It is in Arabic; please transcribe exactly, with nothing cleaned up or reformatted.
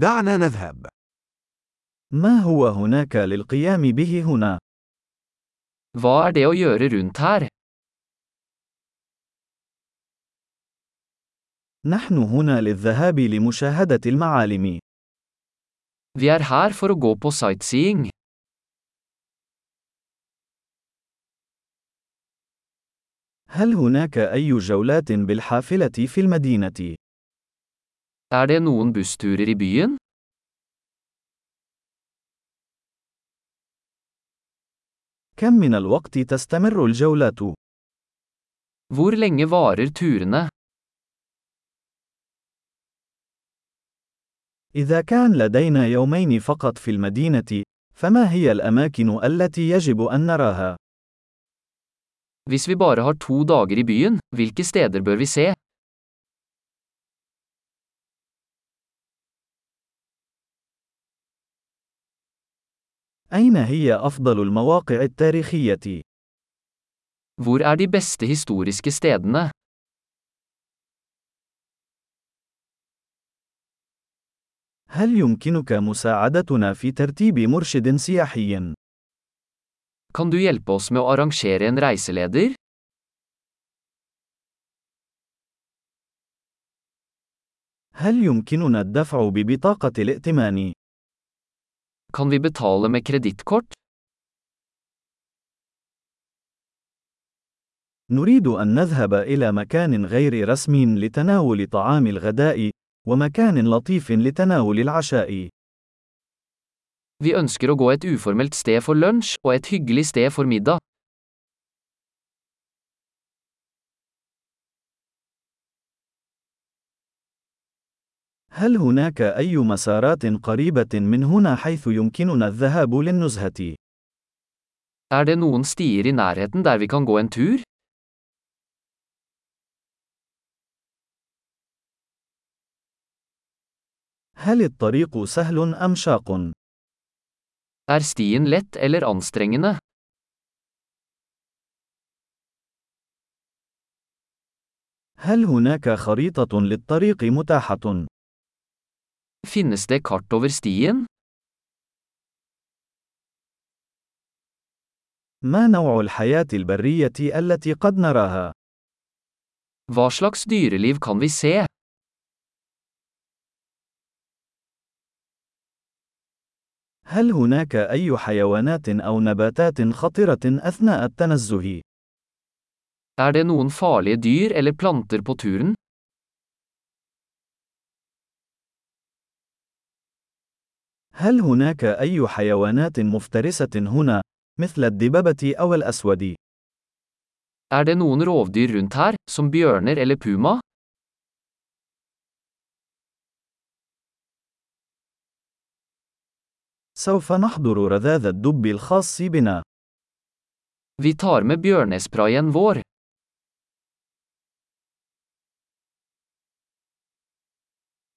دعنا نذهب. ما هو هناك للقيام به هنا؟ Hva er det å gjøre rundt her? نحن هنا للذهاب لمشاهدة المعالم. Vi er her for å gå på sightseeing. هل هناك أي جولات بالحافلة في المدينة؟ Er det noen bussturer i byen? كم من الوقت تستمر الجولات؟ Hvor lenge varer turene? إذا كان لدينا يومين فقط في المدينة، فما هي الأماكن التي يجب أن نراها؟ Hvis vi bare har to dager i byen, hvilke steder bør vi se? أين هي أفضل المواقع التاريخية؟ Hvor er de beste historiske stedene? هل يمكنك مساعدتنا في ترتيب مرشد سياحي؟ Kan du hjelpe oss med å arrangere en reiseleder? هل يمكننا الدفع ببطاقة الائتمان؟ Kan vi betale med kredittkort? نريد أن نذهب إلى مكان غير رسمي لتناول طعام الغداء، ومكان لطيف لتناول العشاء. Vi ønsker å gå et uformelt sted for lunsj, og et hyggelig sted for middag. هل هناك أي مسارات قريبة من هنا حيث يمكننا الذهاب للنزهة؟ Er det noen stier i nærheten der vi kan gå en tur? هل الطريق سهل أم شاق؟ Er stien lett eller anstrengende? هل هناك خريطة للطريق متاحة؟ Finnes det kart over stien? ما نوع الحياة البرية التي قد نراها؟ Hva slags dyreliv kan vi se? هل هناك أي حيوانات أو نباتات خطرة أثناء التنزه؟ Er det noen farlige dyr eller planter på turen? هل هناك أي حيوانات مفترسة هنا، مثل الدببة أو الأسود؟ Er det noen rovdyr rundt her, som bjørner eller puma? سوف نحضر رذاذ الدب الخاص بنا. Vi tar med bjørnesprayen vår.